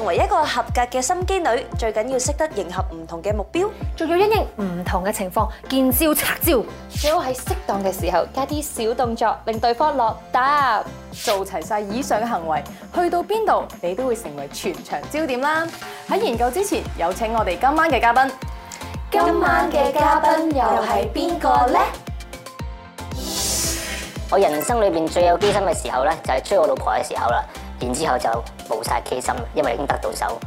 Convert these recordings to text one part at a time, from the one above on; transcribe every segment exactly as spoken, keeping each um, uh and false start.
成為一個合格嘅心機女，最緊要識得迎合唔同嘅目標， 仲要因應唔同嘅情況，見招拆招。 最好喺適當嘅時候加啲小動作，令對方落答。 做齊晒以上嘅行為，去到邊度你都會成為全場焦點啦！喺研究之前，有請我哋今晚嘅嘉賓。 今晚嘅嘉賓又係邊個呢？ 我人生裏邊最有機心嘅時候咧，就係追我老婆嘅時候啦。然之後就冇晒機心，因為已經得到手。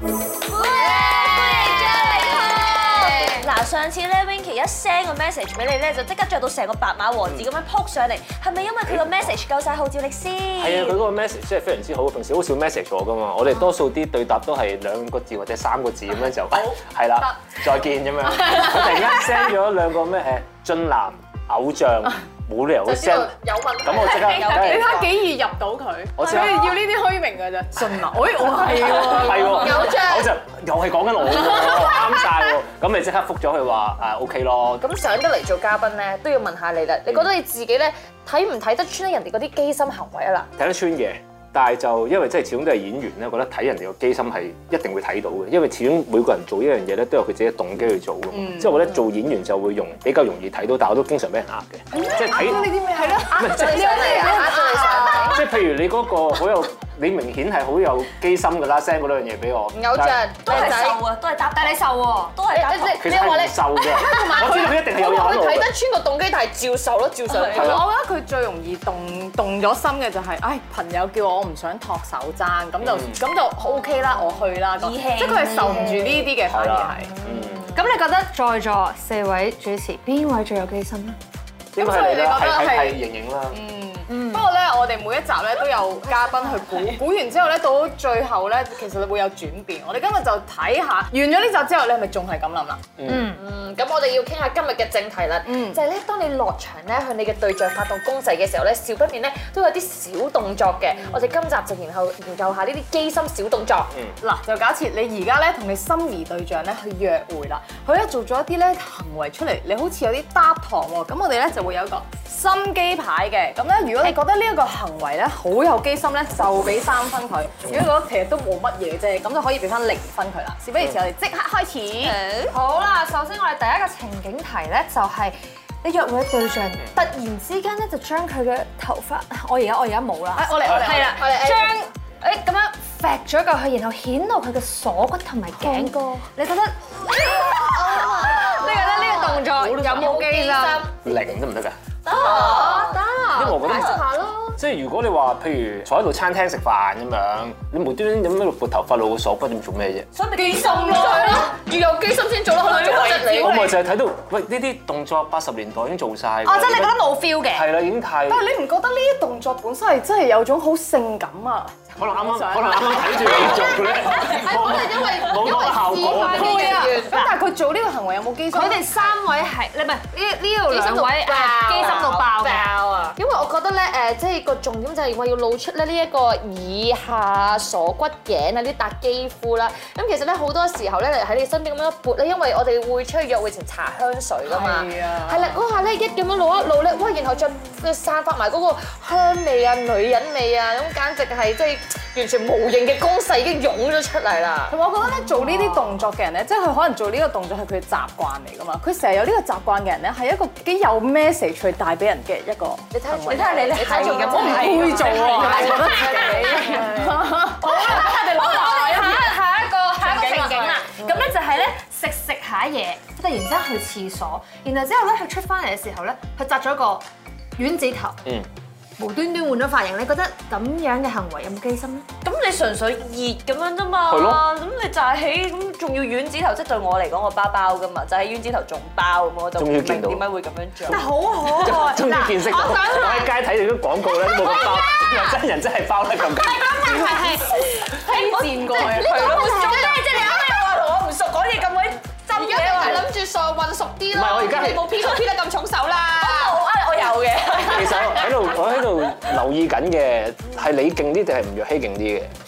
嗱，上次咧 Winky 一 send 個 message 俾你咧，就即刻着到成個白馬王子咁樣撲上嚟，係咪因為佢個 message 夠晒號召力先？ 係啊，佢嗰個 message 真係非常之好，平時好少 message 我噶嘛，我哋多數啲對答都係兩個字或者三個字咁樣就係啦，再見咁樣。佢突然間 send 咗兩個咩誒俊男偶像。冇理由會 send 有問題。 咁我即刻， 你睇幾易入到佢， 我所以要呢啲虛名㗎咋。俊男，喂，我係喎， 係喎， 偶像偶像又係講緊我喎，啱晒喎。咁咪即刻覆咗佢話誒 OK 咯。 咁上得嚟做嘉賓咧，都要問下你啦。你覺得你自己咧睇唔睇得穿人哋嗰啲機心行為啊？嗱， 睇得穿嘅。但係就因為即係始終都係演員咧，覺得睇人哋個機心係一定會睇到嘅，因為始終每個人做一樣嘢咧都有佢自己嘅動機去做㗎嘛。即係我覺得做演員就會容比較容易睇到，但係我都經常俾人呃嘅，即係睇呢啲咩係咯，呃咗你上嚟啊，呃咗你上嚟。即係譬如你嗰個好有，你明顯係好有機心㗎啦，send 嗰兩樣嘢俾我。 偶像都係瘦啊，都係答，但係你瘦喎，都係答。 其實係唔瘦嘅，我知道佢一定係有嘢喺度。 睇得穿個動機，但係照受咯，照受。 我覺得佢最容易動動咗心嘅就係，唉，朋友叫我唔想托手踭，咁就咁就 O K 啦，我去啦。 義氣， 即係佢係受唔住呢啲嘅，反而係。 咁你覺得在座四位主持邊位最有機心咧？ 應該係你啦，係係係盈盈啦。 嗯，不過咧，我哋每一集咧都有嘉賓去估，估完之後咧，到最後咧，其實會有轉變。我哋今日就睇下，完咗呢集之後，你係咪仲係咁諗啦？ 嗯嗯，咁我哋要傾下今日嘅正題啦。嗯，就係咧，當你落場咧向你嘅對象發動攻勢嘅時候咧，少不免咧都有啲小動作嘅。我哋今集就然後研究下呢啲機心小動作。 嗱，就假設你而家咧同你心儀對象咧去約會啦，佢咧做咗一啲咧行為出嚟，你好似有啲搭堂喎。咁我哋咧就會有一個心機牌嘅。咁咧，如果你覺得呢一個行為咧好有機心咧，就俾三分佢；如果覺得其實都冇乜嘢啫，咁就可以俾翻零分佢啦。事不宜遲，我哋即刻開始。 好啦，首先我哋第一個情景題咧就係你約會嘅對象突然之間咧就將佢嘅頭髮，我而家我而家冇啦， 我嚟我嚟， 係啦， 我哋將誒咁樣揈咗過去，然後顯露佢嘅鎖骨同埋頸。你覺得？你覺得呢個動作有冇機心？ 零得唔得㗎？ 得得， 因為我覺得解釋下咯。 即係如果你話，譬如坐喺度餐廳食飯咁樣，你無端端咁喺度撥頭髮露個鎖骨，點做咩啫？ 所以咪機心咯，要有機心先做咯，可能做質你。 我咪就係睇到，喂呢啲動作八十年代已經做晒。 哦，即係你覺得冇 feel 嘅？ 係啦，已經太。 但係你唔覺得呢啲動作本身係真係有種好性感啊？ 可能啱啱，可能啱啱睇住你做咧， 可能因為冇嗰個效果。 係啊，咁但係佢做呢個行為有冇機心？ 佢哋三位係你唔係呢呢度兩位誒機心到爆嘅。 啊！因為我覺得咧誒，即係個重點就係話要露出咧呢一個以下鎖骨頸啊，呢笪肌膚啦。咁其實咧好多時候咧喺你身邊咁樣撥咧，因為我哋會出去約會前搽香水㗎嘛。係啊。係啦，嗰下咧一咁樣露一露咧，哇！然後再散發埋嗰個香味啊、女人味啊，咁簡直係即係完全無形嘅攻勢已經湧咗出嚟啦。 同埋我覺得咧做呢啲動作嘅人咧，即係佢可能做呢個動作係佢嘅習慣嚟㗎嘛。佢成日有呢個習慣嘅人咧，係一個幾有 message 去帶俾人嘅一個。 你睇行為你睇下你你睇做咁， 我唔會做喎，我覺得自己。好啦，我哋攞下一下一個下一個情景啦，咁咧就係咧食食下嘢，突然之間去廁所，然後之後咧佢出翻嚟嘅時候咧，佢紮咗個丸子頭， 嗯， 無端端換咗髮型，你覺得咁樣嘅行為有冇機心咧？ 咁你純粹熱咁樣啫嘛， 係咯咁你就係起咁，仲要丸子頭，即係對我嚟講，我包包噶嘛，就係丸子頭仲包咁，我就唔明點解會咁樣做。 但好可愛， 終於見識到，我喺街睇到啲廣告咧都冇咁包，又真人真係包得咁緊。 係係推薦過去， 係咯，做咩啫？你啱啱又話同我唔熟，講嘢咁鬼真而家你係諗住傻混熟啲咯。 唔係我而家係你冇 P 圖 P 得咁重手啦。 我啊，我有嘅。 其實我喺度，我喺度留意緊嘅係你勁啲定係吳若希勁啲嘅？ 應該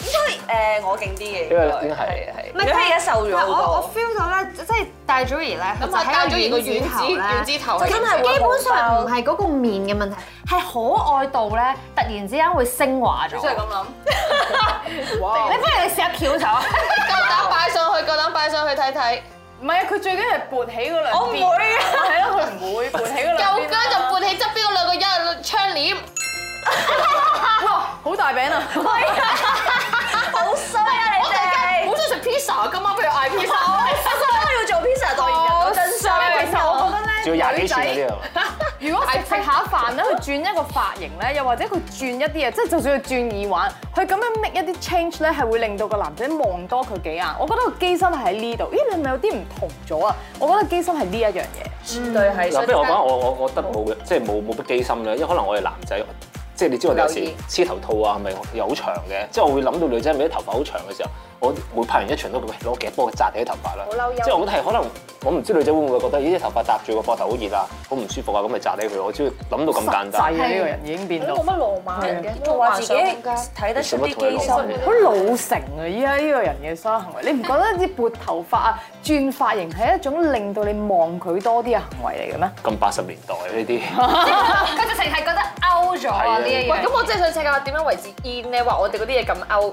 誒我勁啲嘅， 因為已經係係。如果而家瘦咗我我好多， feel 到咧，即係戴祖兒咧，佢就咁啊，戴咗而個喺個丸丸子丸子頭係真係基本上唔係嗰個面嘅問題，係可愛度咧，突然之間會升華咗。 真係咁諗。 你不如你試下翹手， 夠膽擺上去，夠膽擺上去睇睇。 唔係啊，佢最緊係撥起嗰兩邊。 我唔會啊係咯，佢唔會撥起嗰兩邊。 夠姜就撥起側邊嗰兩個一窗簾。 哇，好大餅啊！ 好衰啊你哋！ 好想食 pizza，今晚不如嗌 pizza。 都要做 pizza 代言人，真衰。 其實我覺得咧， 仲要廿幾寸嗰啲啊！ 如果食食下飯咧，佢轉一個髮型咧，又或者佢轉一啲嘢，即係就算佢轉耳環，佢咁樣 make 一啲 change 咧，係會令到個男仔望多佢幾眼。我覺得個機心係喺呢度。咦，你係咪有啲唔同咗啊？我覺得機心係呢一樣嘢。 絕對係。 嗱，不如我講我我我覺得冇嘅，即係冇冇乜機心咧，因為可能我係男仔。即係你知我哋有時黐頭套啊，係咪又好長嘅？即係我會諗到女仔咪啲頭髮好長嘅時候，我會拍完一場都會攞夾幫佢紮起啲頭髮啦。 好嬲憂。 即係我覺得係可能我唔知女仔會唔會覺得咦啲頭髮搭住個膊頭好熱啊，好唔舒服啊，咁咪紮起佢。我只要諗到咁簡單。 細啊！呢個人已經變到冇乜浪漫嘅，仲話自己睇得出啲機心。 好老成啊！依家呢個人嘅所有行為，你唔覺得啲撥頭髮啊、轉髮型係一種令到你望佢多啲嘅行為嚟嘅咩？ 咁八十年代呢啲。 佢直情係覺得 out 咗啊呢一樣。 喂，咁我真係想請教點樣為之 in 咧？話我哋嗰啲嘢咁 out。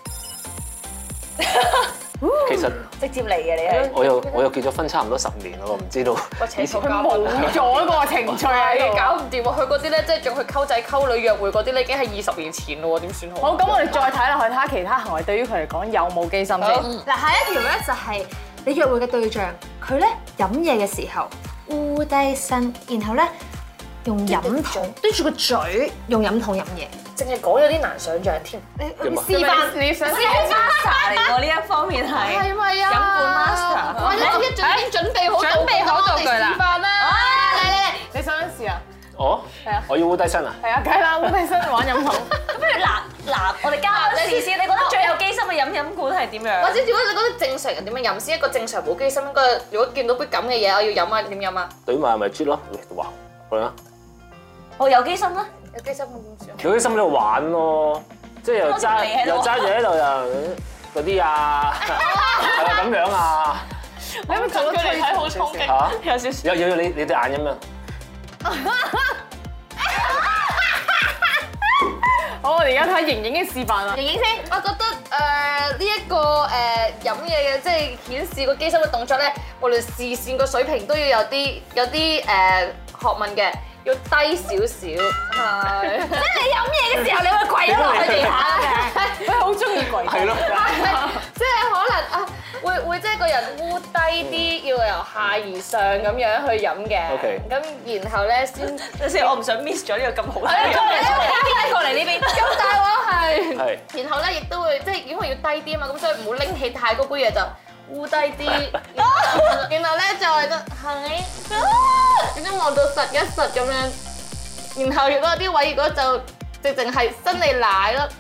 其實直接嚟嘅你係。 我又我又結咗婚差唔多十年啦，我唔知道。 以前佢冇咗個程序喺度， 搞唔掂喎！佢嗰啲咧，即係仲去溝仔溝女約會嗰啲咧，已經係二十年前咯喎，點算好？ 好，咁我哋再睇落去，睇下其他行為對於佢嚟講有冇機心先。 嗱，下一條咧就係你約會嘅對象，佢咧飲嘢嘅時候烏低身，然後咧用飲筒對住個嘴用飲筒飲嘢。 淨係講有啲難想像添。 你點啊示範， 你想係 master 嚟喎呢一方面係。 係咪啊？ 飲罐 master 我一一早已經準備好準備好道具啦示範啦！嚟嚟嚟！ 你想唔想試啊？ 哦， 係啊我要烏低身啊！ 係啊，梗係啦，烏低身玩飲筒。 咁不如嗱嗱，我哋交試先，你覺得最有機心嘅飲飲管係點樣？ 或者如果你覺得正常人點樣飲先？一個正常冇機心應該，如果見到杯咁嘅嘢，我要飲啊，點飲啊？ 對埋咪啜咯，哇，去啦！ 我有機心啦。 有機心咁點算？ 有啲心喺度玩咯，即係又揸又揸住喺度又嗰啲啊，係啊咁樣啊， 你有冇做咗推睇好衝擊？ 嚇有少少。 有有有你你對眼咁樣。 好，我哋而家睇盈盈嘅示範啦。 盈盈先，我覺得誒呢一個誒飲嘢嘅，即係顯示個機心嘅動作咧，無論視線個水平都要有啲有啲誒學問嘅。要低少少，係。即係你飲嘢嘅時候，你會跪咗落去地下嘅。 佢好中意跪。 係咯。 即係可能啊，會會即係個人烏低啲，要由下而上咁樣去飲嘅。 OK。 咁然後咧先， 有時我唔想 miss 咗呢個咁好睇嘅。 係啊， 邊個過嚟呢邊？ 咁大鑊係。 係。 然後咧亦都會即係因為要低啲啊嘛，咁所以唔好拎起太高杯嘢就烏低啲。然後咧就係得係。點解望到實一實咁樣？然後如果有啲位，如果就直情係伸你奶咯。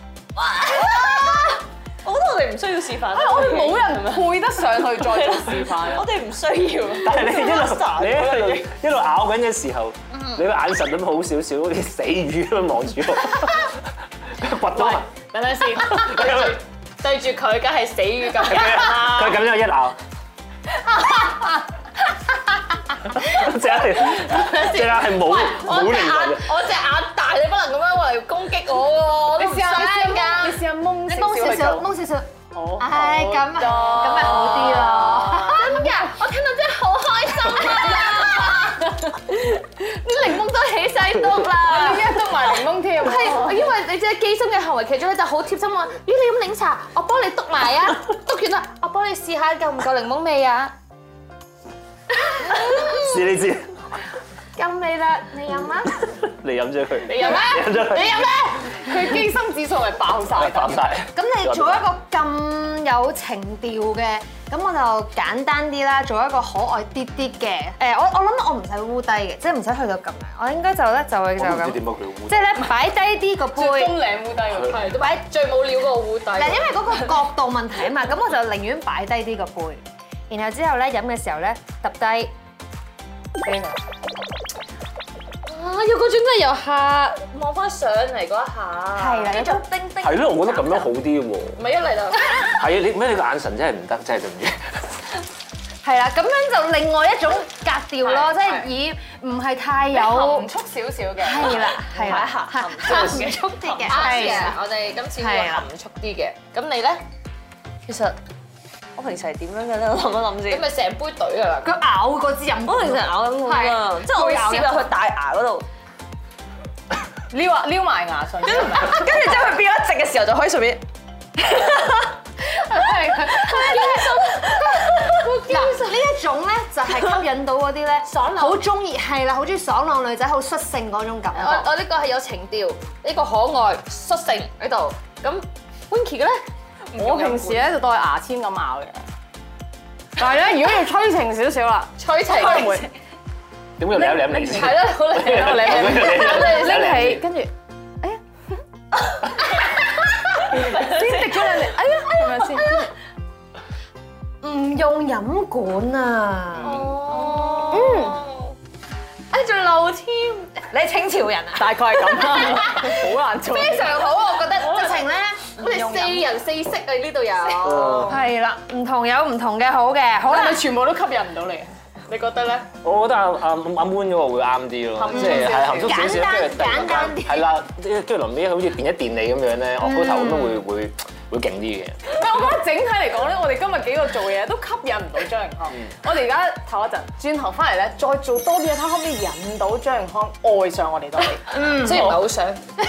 我覺得我哋唔需要示範。 我哋冇人配得上去再做示範。 我哋唔需要。 但係你一路你一路一路咬緊嘅時候，你個眼神都好少少，好似死魚咁樣望住我，掘到啊！ 等陣先，對住佢，梗係死魚咁。 佢咁樣一咬。隻眼係隻眼係冇冇靈魂嘅。 我隻眼大，你不能咁樣嚟攻擊我喎。 你試下， 你試你試下蒙你少蒙少少， 少去做。 蒙少少。 好。 唉，咁咁咪好啲咯。 真㗎，我聽到真係好開心啊！啲檸檬都起晒篤啦。 你一篤埋檸檬添。 係，因為你知機心嘅行為其中咧就好貼心話，咦你飲檸茶，我幫你篤埋啊，篤完啦，我幫你試下夠唔夠檸檬味啊？ 試你知， 夠味啦，你飲啊！ 你飲咗佢， 你飲咩？ 你飲咗佢， 你飲咩？ 佢機心指數係爆晒。 爆晒。 咁你做一個咁有情調嘅，咁我就簡單啲啦，做一個可愛啲啲嘅。誒，我我諗我唔使烏低嘅，即係唔使去到咁樣。我應該就咧就會就咁， 我唔知點解佢烏。 即係咧擺低啲個杯。 最中領烏低喎。 係，都擺最冇料嗰個壺底。 嗱，因為嗰個角度問題啊嘛，咁我就寧願擺低啲個杯，然後之後咧飲嘅時候咧揼低。 啊！有嗰種真係由下望翻上嚟嗰一下， 係啦，有種叮叮。 係咯，我覺得咁樣好啲喎。 唔係一嚟就係啊，你咩你個眼神真係唔得，真係對唔住。 係啦，咁樣就另外一種格調咯，即係以唔係太有含蓄少少嘅。 係啦，係啦， 含含蓄啲嘅， 啱嘅。我哋今次會含蓄啲嘅。咁你咧？ 其實我平時係點樣嘅咧？我諗一諗先。 你咪成杯懟啊！ 佢咬嗰支飲管， 我平時咬咁㗎，即係我會攝入去大牙嗰度， 撩啊撩埋牙唇， 跟住之後佢變咗直嘅時候就可以順便。 嗱，呢一種咧就係吸引到嗰啲咧爽朗好中意係啦，好中意爽朗女仔，好率性嗰種感覺。 我我呢個係有情調，呢個可愛率性喺度。咁 Winky 嘅咧？ 我平時咧就當牙籤咁咬嘅。但係咧，如果要催情少少啦， 催情點會舐舐嚟先？ 係咯，好嚟我嚟嚟拎起，跟住，哎呀，先滴咗兩滴，哎呀，係咪先？ 唔用飲管啊！ 哦，嗯，哎仲漏添， 你係清朝人啊？ 大概係咁啦，好難做。 非常好，我覺得直情咧， 我哋四人四色啊，呢度有。 係啦，唔同有唔同嘅好嘅，好啦係咪，全部都吸引唔到你？你覺得咧？ 我覺得阿阿阿 Moon 嗰個會啱啲咯，即係係含蓄少少，跟住突然間係啦，跟住臨尾好似電一電你咁樣咧，我嗰頭咁樣會會會勁啲嘅。 唔係，我覺得整體嚟講咧，我哋今日幾個做嘢都吸引唔到張盈康。我哋而家唞一陣，轉頭翻嚟咧，再做多啲嘢，睇可唔可以引到張盈康愛上我哋多啲。 嗯，雖然唔係好想。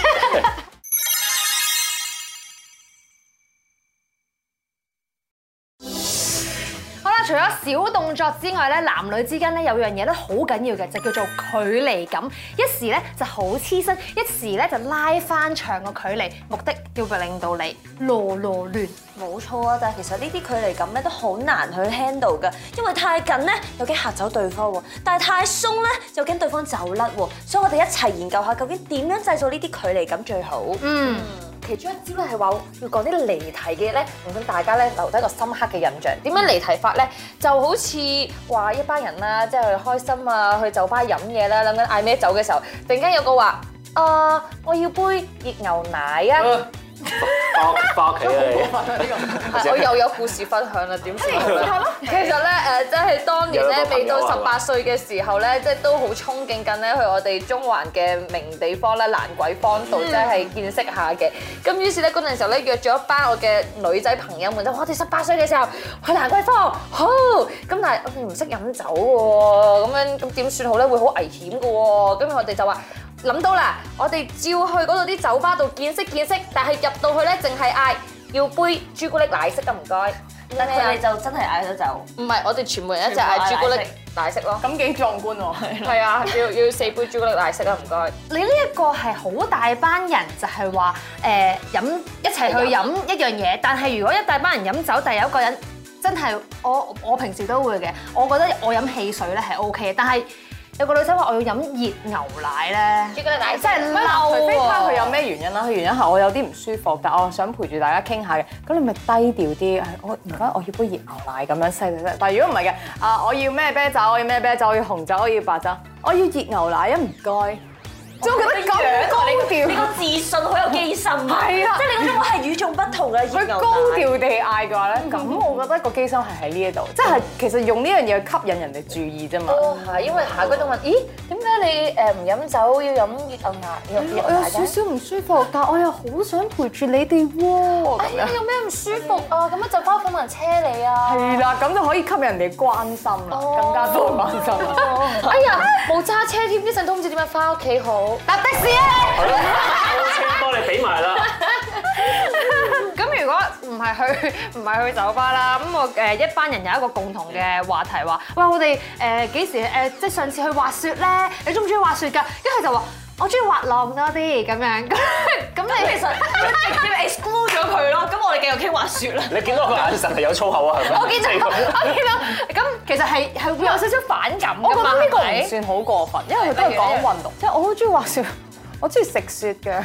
除咗小動作之外咧，男女之間咧有樣嘢咧好緊要嘅，就叫做距離感。一時咧就好黐身，一時咧就拉翻長個距離，目的要令到你囉囉攣。 冇錯啊，但係其實呢啲距離感咧都好難去 handle 㗎，因為太近咧又驚嚇走對方喎，但係太鬆咧又驚對方走甩喎，所以我哋一齊研究下究竟點樣製造呢啲距離感最好。 嗯。 其中一招咧係話要講啲離題嘅嘢咧，令到大家咧留低一個深刻嘅印象。點樣離題法咧？就好似話一班人啦，即係去開心啊，去酒吧飲嘢啦，諗緊嗌咩酒嘅時候，突然間有個話：啊，我要杯熱牛奶啊！ 翻翻屋企啊你！ 我又有故事分享啦，點算好咧？其實咧誒，即係當年咧未到十八歲嘅時候咧，即係都好憧憬緊咧去我哋中環嘅名地方咧蘭桂坊度，即係見識下嘅。咁於是咧嗰陣時候咧約咗一班我嘅女仔朋友們，就我哋十八歲嘅時候去蘭桂坊，好咁，但係我哋唔識飲酒喎，咁樣咁點算好咧？會好危險嘅喎，咁我哋就話。諗到啦，我哋照去嗰度啲酒吧度見識見識，但係入到去咧，淨係嗌要杯朱古力奶昔啊，唔該。 但佢哋就真係嗌咗酒。 唔係，我哋全部人一齊嗌朱古力奶昔咯。 咁幾壯觀喎！ 係啊，要要四杯朱古力奶昔啊，唔該。 你呢一個係好大班人，就係話誒飲一齊去飲一樣嘢，但係如果一大班人飲酒，但係有一個人真係我我平時都會嘅，我覺得我飲汽水咧係 O K 嘅，但係。有個女仔話我要飲熱牛奶咧， 朱古力奶真係嬲除非睇下佢有喎。 咩原因啦，佢原因係我有啲唔舒服，但我想陪住大家傾下嘅，咁你咪低調啲，我唔該我要杯熱牛奶咁樣細細聲。但係如果唔係嘅，啊我要咩啤酒，我要咩啤酒，我要紅酒，我要白酒，我要熱牛奶啊唔該。即係我覺得咁高調， 你個自信好有機心， 係啦即係你嗰種我係與眾不同嘅熱牛佢高調地嗌嘅話咧，咁我覺得個機心係喺呢一度，即係其實用呢樣嘢去吸引人哋注意啫嘛。 都係，因為下個都問，咦點解你誒唔飲酒要飲熱牛奶？熱熱我有少牛奶嘅？ 少唔舒服，但我又好想陪住你哋喎。 哎呀，有咩唔舒服啊？咁樣就翻屋企問人車你啊？ 係啦，咁就可以吸引人哋關心啦，更加多關心啦。 哎呀，冇揸車添，呢陣都唔知點樣翻屋企好。 搭的士啊！ 係咯，車幫你俾埋啦。 咁如果唔係去唔係去酒吧啦，咁我誒一班人有一個共同嘅話題話，喂我哋誒幾時誒即係上次去滑雪咧？你中唔中意滑雪㗎？跟住佢就話我中意滑浪多啲咁樣。咁咁你其實直接 exclude 咗佢咯。咁我哋繼續傾滑雪啦。 你見到佢眼神係有粗口啊？係咪？ 我見到我見到咁其實係係會有少少反感我覺㗎嘛？ 得呢個唔係咪算好過分，因為佢都係講運動，即係我好中意滑雪，我中意食雪嘅。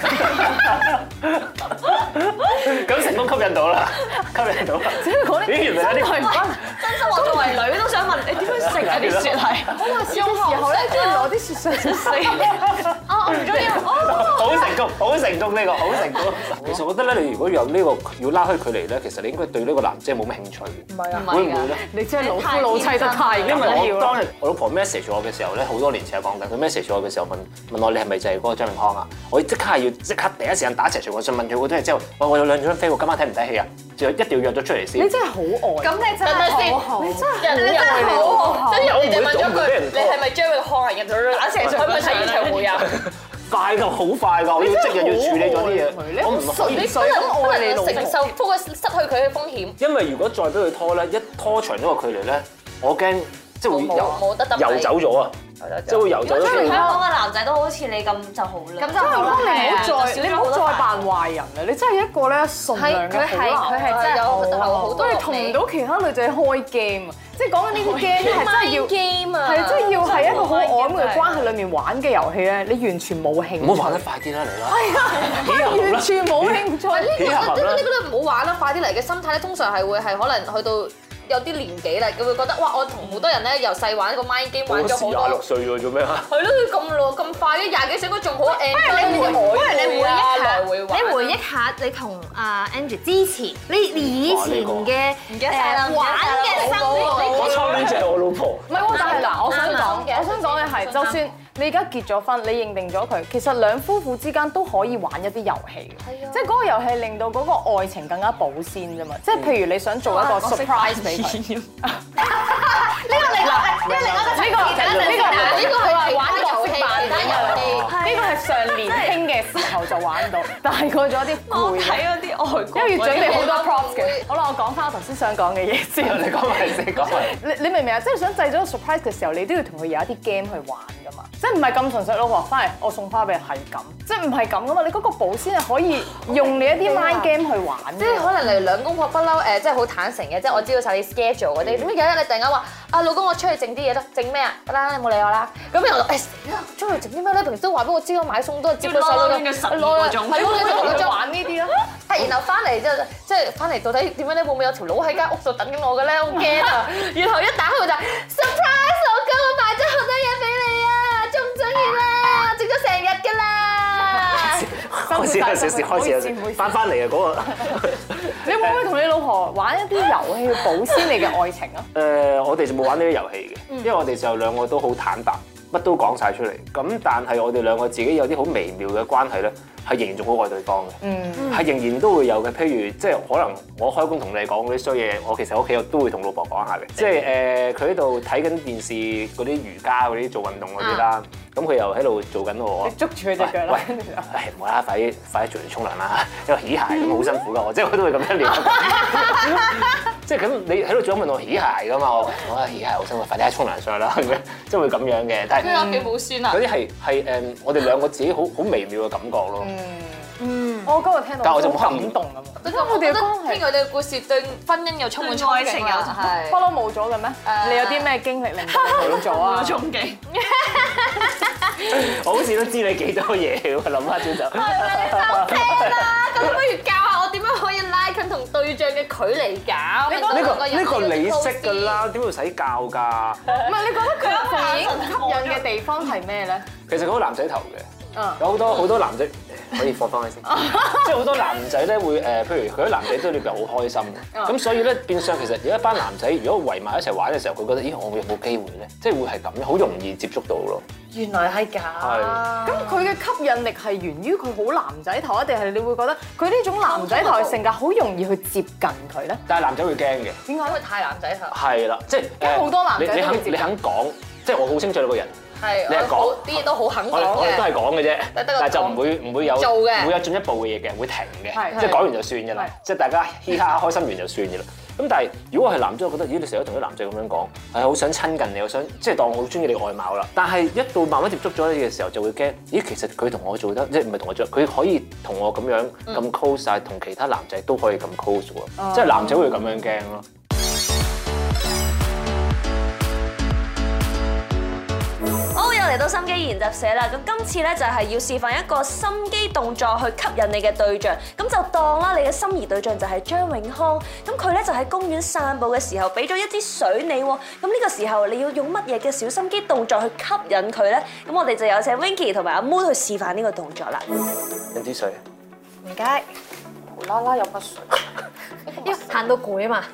咁成功吸引到啦，吸引到啦。 只係講啲咦，原來有啲真心我作為女都想問你點樣食啊啲雪係？ 我話笑嘅時候咧，中意攞啲上四。 哦，我唔中意。 好成功，好成功呢個，好成功。其實我覺得咧，你如果有呢個要拉開距離咧，其實你應該對呢個男仔冇乜興趣。 唔係啊， 會唔會咧？ 你真係老夫老妻得太緊因為要啦。 我當日我老婆 message 我嘅時候咧，好多年前講緊，佢 message 我嘅時候問問我你係咪就係嗰個張永康啊？我即刻係要即刻第一時間打一齊傳我信問佢好多嘢之後，我我有兩張飛喎，今晚睇唔睇戲啊？就一定要約咗出嚟先。 你真係好愛。 咁你真係好好， 你真係人哋真係好好，跟住人哋問咗句：你係咪張永康啊？然後打成上去睇演唱會啊！ 快㗎，好快㗎，我要即日要處理咗啲嘢，我唔可以。 你不能愛你老婆，承受嗰個失去佢嘅風險。 因為如果再俾佢拖咧，一拖長咗個距離咧，我驚即係會遊冇得得遊走咗啊！即係會遊走咗。 香港嘅男仔都好似你咁就好啦。 咁就好啦。 你唔好再係啊你唔好再扮壞人啦！你真係一個咧純良嘅好男。 佢係真係有好多都係同唔到其他女仔開 game 啊！即係講緊呢個 game 咧係真係要 game 啊， 係真係要喺一個好曖昧嘅關係裡面玩嘅遊戲咧，你完全冇興趣。 唔好玩得快啲啦，嚟啦！ 係啊，完全冇興趣。 呢個呢個都唔好玩啦，快啲嚟嘅心態咧，通常係會係可能去到有啲年紀啦，佢會覺得哇，我同好多人咧由細玩一個 mind game 玩咗好多。 廿六歲喎，做咩啊？ 係咯，咁耐咁快嘅廿幾歲應該仲好 enjoy 不如你回憶下， 來回玩。 你回憶下你同阿 Angie 之前，你以前嘅誒玩嘅生活， 我初戀就係我老婆。 唔係喎，但係嗱，我想講，我想講嘅係，就算你而家結咗婚，你認定咗佢，其實兩夫婦之間都可以玩一啲遊戲嘅，即係嗰個遊戲令到嗰個愛情更加保鮮啫嘛。即係譬如你想做一個 surprise 俾佢。呢個你嗱，呢個另一個呢個呢個呢個係玩遊戲扮遊戲，呢個係上年輕嘅時候就玩到，大個咗啲攰。 睇嗰啲外國， 因為要準備好多 props 嘅。好啦，我講翻我頭先想講嘅嘢先。 你講埋先，講埋。 你你明唔明啊？即係想製咗個 surprise 嘅時候，你都要同佢有一啲 game 去玩噶嘛。即係唔係咁純粹老婆翻嚟，我送花俾你係咁，即係唔係咁噶嘛？你嗰個保鮮係可以用你一啲 mind game 去玩。 即係可能例如兩公婆不嬲誒，即係好坦誠嘅，即係我知道晒你 schedule 嗰啲。點解有一日你突然間話啊老公我出去整啲嘢啦，整咩啊？得啦，你冇理我啦。咁然後誒死啦，出去整啲咩咧？平時都話俾我知，我買餸都係接個細佬嘅十二個鐘，係咯，你同佢玩呢啲咯。係，然後翻嚟之後即係翻嚟到底點樣咧？會唔會有條佬喺間屋度等緊我嘅咧？好驚啊！然後一打開就 surprise 老公，我買咗好多嘢俾你啊！中唔中意咧？整咗成日㗎啦！ 開始有少少，開始有少少翻翻嚟啊！嗰個你會唔會同你老婆玩一啲遊戲去保鮮你嘅愛情啊？ 誒，我哋就冇玩呢啲遊戲嘅，因為我哋就兩個都好坦白，乜都講晒出嚟。咁但係我哋兩個自己有啲好微妙嘅關係咧，係仍然仲好愛對方嘅，嗯，係仍然都會有嘅。譬如即係可能我開工同你講嗰啲衰嘢，我其實屋企我都會同老婆講下嘅。即係誒，佢喺度睇緊電視嗰啲瑜伽嗰啲做運動嗰啲啦，咁佢又喺度做緊我。 你捉住佢隻腳啦！ 喂，唉，唔好啦，快啲快啲做完沖涼啦，因為起鞋咁好辛苦噶，我即係我都會咁樣聊。即係咁，你喺度仲問我起鞋噶嘛？我我話起鞋好辛苦，快啲喺沖涼上去啦咁樣，即係會咁樣嘅。但係佢屋企冇孫啊！ 嗰啲係係誒，我哋兩個自己好好微妙嘅感覺咯。 嗯，我今日聽到但係我就好冇感動咁。 我覺得我哋嘅關係，聽佢哋嘅故事對婚姻又充滿憧憬啊！係不嬲冇咗嘅咩？你有啲咩經歷令到你冇咗啊？ 憧憬。 我好似都知你幾多嘢喎，諗下先就。 收聲啦！咁不如教下我點樣可以拉近同對象嘅距離㗎？ 呢個呢個你識㗎啦，點會使教㗎？ 唔係，你覺得佢電影吸引嘅地方係咩咧？ 其實佢好男仔頭嘅，有好多好多男仔可以放翻去先，即係好多男仔咧會誒，譬如佢啲男仔都裏邊好開心嘅，咁所以咧變相其實有一班男仔如果圍埋一齊玩嘅時候，佢覺得咦我有冇機會咧？即係會係咁樣，好容易接觸到咯。 原來係㗎。 係。 咁佢嘅吸引力係源於佢好男仔頭啊，定係你會覺得佢呢種男仔頭嘅性格好容易去接近佢咧？ 但係男仔會驚嘅。 點解？ 因為太男仔頭。 係啦，即係因為好多男仔你你肯都會接近你肯講，即係我好清楚你個人。 係。 你係講啲嘢都好肯講我哋我哋都係嘅。 講嘅啫， 得個但係就唔會唔會有做嘅唔會有進一步嘅嘢嘅，會停嘅， 係即係講完就算嘅啦，即係大家嘻哈開心完就算嘅啦。咁但係如果我係男仔，我覺得咦你成日都同啲男仔咁樣講，係好想親近你，我想即係當我好中意你外貌啦。但係一到慢慢接觸咗你嘅時候，就會驚咦其實佢同我做得即係唔係同我做，佢可以同我咁樣咁 close 晒，同其他男仔都可以咁 close 喎，即係男仔會咁樣驚咯。 好，又嚟到到心機研習社啦，咁今次咧就係要示範一個心機動作去吸引你嘅對象，咁就當啦，你嘅心儀對象就係張永康，咁佢咧就喺公園散步嘅時候俾咗一支水你喎，咁呢個時候你要用乜嘢嘅小心機動作去吸引佢咧？咁我哋就有請 Winky 同埋阿 Moon 去示範呢個動作啦。 飲支水。 唔該。 無啦啦飲乜水？ 因為行到攰啊嘛。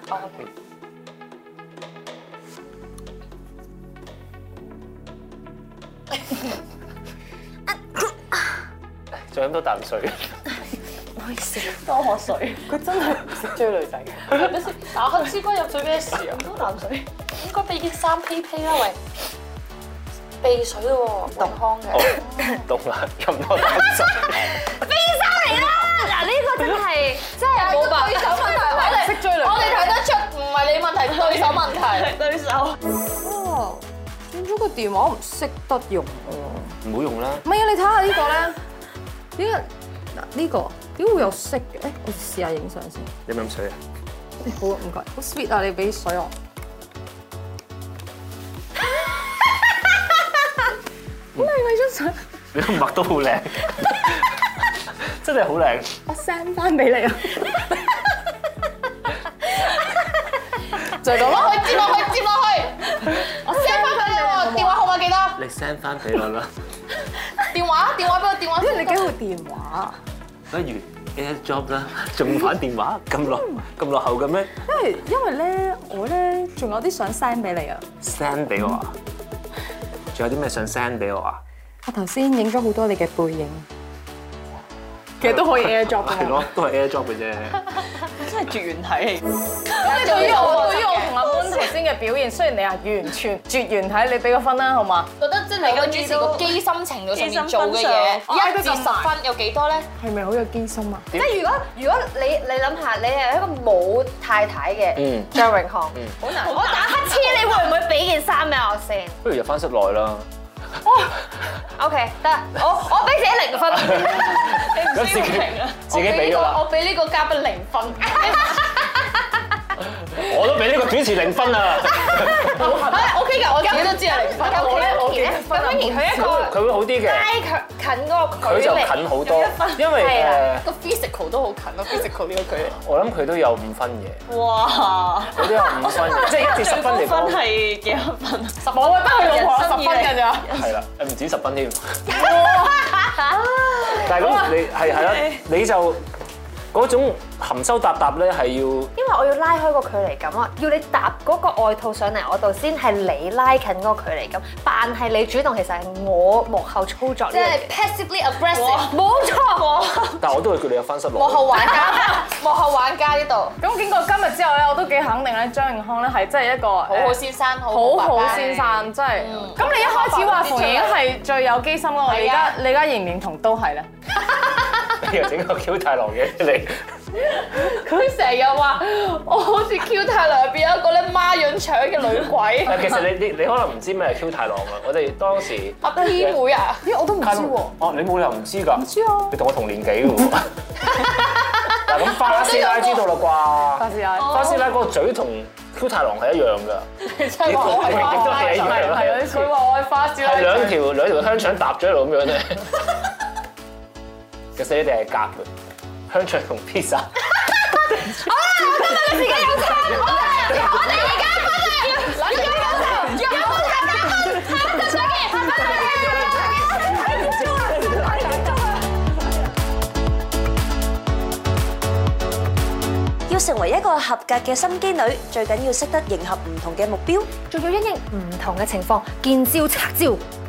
再飲多啖水。 唔好意思， 多喝水，佢真係唔識追女仔嘅。 係咪先？打乞嗤龜入水咩事啊？多啖水，應該俾件衫披披啦喂。避水喎，永康嘅。 凍啦，飲多啖水。 飛衫嚟啦！嗱，呢個真係真係冇辦對手問題，我哋識追女仔我哋睇得出唔係你問題，對手問題。 對手。 哦，轉咗個電話我唔識得用喎。 唔好用啦。 唔係啊，你睇下呢個咧，點解嗱呢個點會有色嘅？誒，我試下影相先。 飲唔飲水啊？ 好唔該，好 sweet 啊！你俾水我。好靚啊！張相。 你個墨都好靚，真係好靚。 我 send 翻俾你啊！就係咁咯， 接落去，接落去。我 send 翻俾你喎，電話號碼幾多？ 你 send 翻俾我啦。 電話，電話俾我，電話。 因為你幾號電話？ 不如 AirDrop 啦，仲玩電話咁落咁落後嘅咩？ 因為因為咧，我咧仲有啲想 send 俾你啊。 send 俾我啊？仲有啲咩想 send 俾我啊？ 我頭先影咗好多你嘅背影，其實都可以 AirDrop 㗎。 係咯，都係 AirDrop 嘅啫。 真係絕緣體。咁你對於我對於我同阿 Moon 頭先嘅表現，雖然你係完全絕緣體，你俾個分啦，好嘛？ 覺得即係你個主持個機心程度上面做嘅嘢，一至十分有幾多咧？ 係咪好有機心啊？ 即係如果如果你你諗下，你係一個冇太太嘅嗯張永康，好難。我打乞嗤，你會唔會俾件衫俾我先不如入翻室內啦。 ？OK，得，我我俾自己零分。 咁自己自己俾咗啦。 我俾呢個嘉賓零分。 我都俾呢個主持零分啊！ 係 OK 㗎，我自己都知係零分。 咁我咧，我而咧，咁而佢一個佢會好啲嘅， 拉近嗰個佢就距離， 近好多，因為係啦誒， 個 physical 都好近咯，physical 呢個距離。 我諗佢都有五分嘅， 哇！ 佢都有五分嘅，即係一至十分嚟分講， 係幾多分啊？ 十冇啊，得佢老婆人生十分㗎咋。 係啦，誒唔止十分添。但係咁你係係啦，你就嗰種含羞答答咧係要。 因為我要拉開個距離感啊，要你搭嗰個外套上嚟我度先係你拉近嗰個距離感，扮係你主動，其實係我幕後操作呢即係樣嘢。 passively aggressive， 冇錯。 但係我都會叫你入翻室內。 幕後玩家，幕後玩家呢度， 咁經過今日之後咧，我都幾肯定咧，張永康咧係真係一個好好先生，好好好爸爸先生，真係。咁你一開始話馮盈盈係最有機心咯，我哋而家你而家認唔認同都係咧？ 你又整個 Q 太郎嘅你。 佢成日話我好似 Q 太郎入邊有一個咧孖潤腸嘅女鬼， 但其實你你你可能唔知咩係 Q 太郎啊！我哋當時阿 P 妹啊， 咦，我都唔知喎。 哦，你冇理由唔知㗎。唔知啊你同我同年紀嘅喎。嗱咁花師奶知道啦啩？ 花師奶花師奶嗰個嘴同 Q 太郎係一樣㗎。 你真係話我係亦都係一樣係係有啲佢話我係花師奶。 係兩條兩條香腸搭咗喺度咁樣咧。其實你哋係夾嘅，香腸同 pizza。 好啦，我覺得你自己有錯，我哋我哋而家分啊，諗住有錯，有錯加分，下一集再見，下一集再見。 要成為一個合格嘅心機女，最緊要識得迎合唔同嘅目標。 仲要因應唔同嘅情況，見招拆招。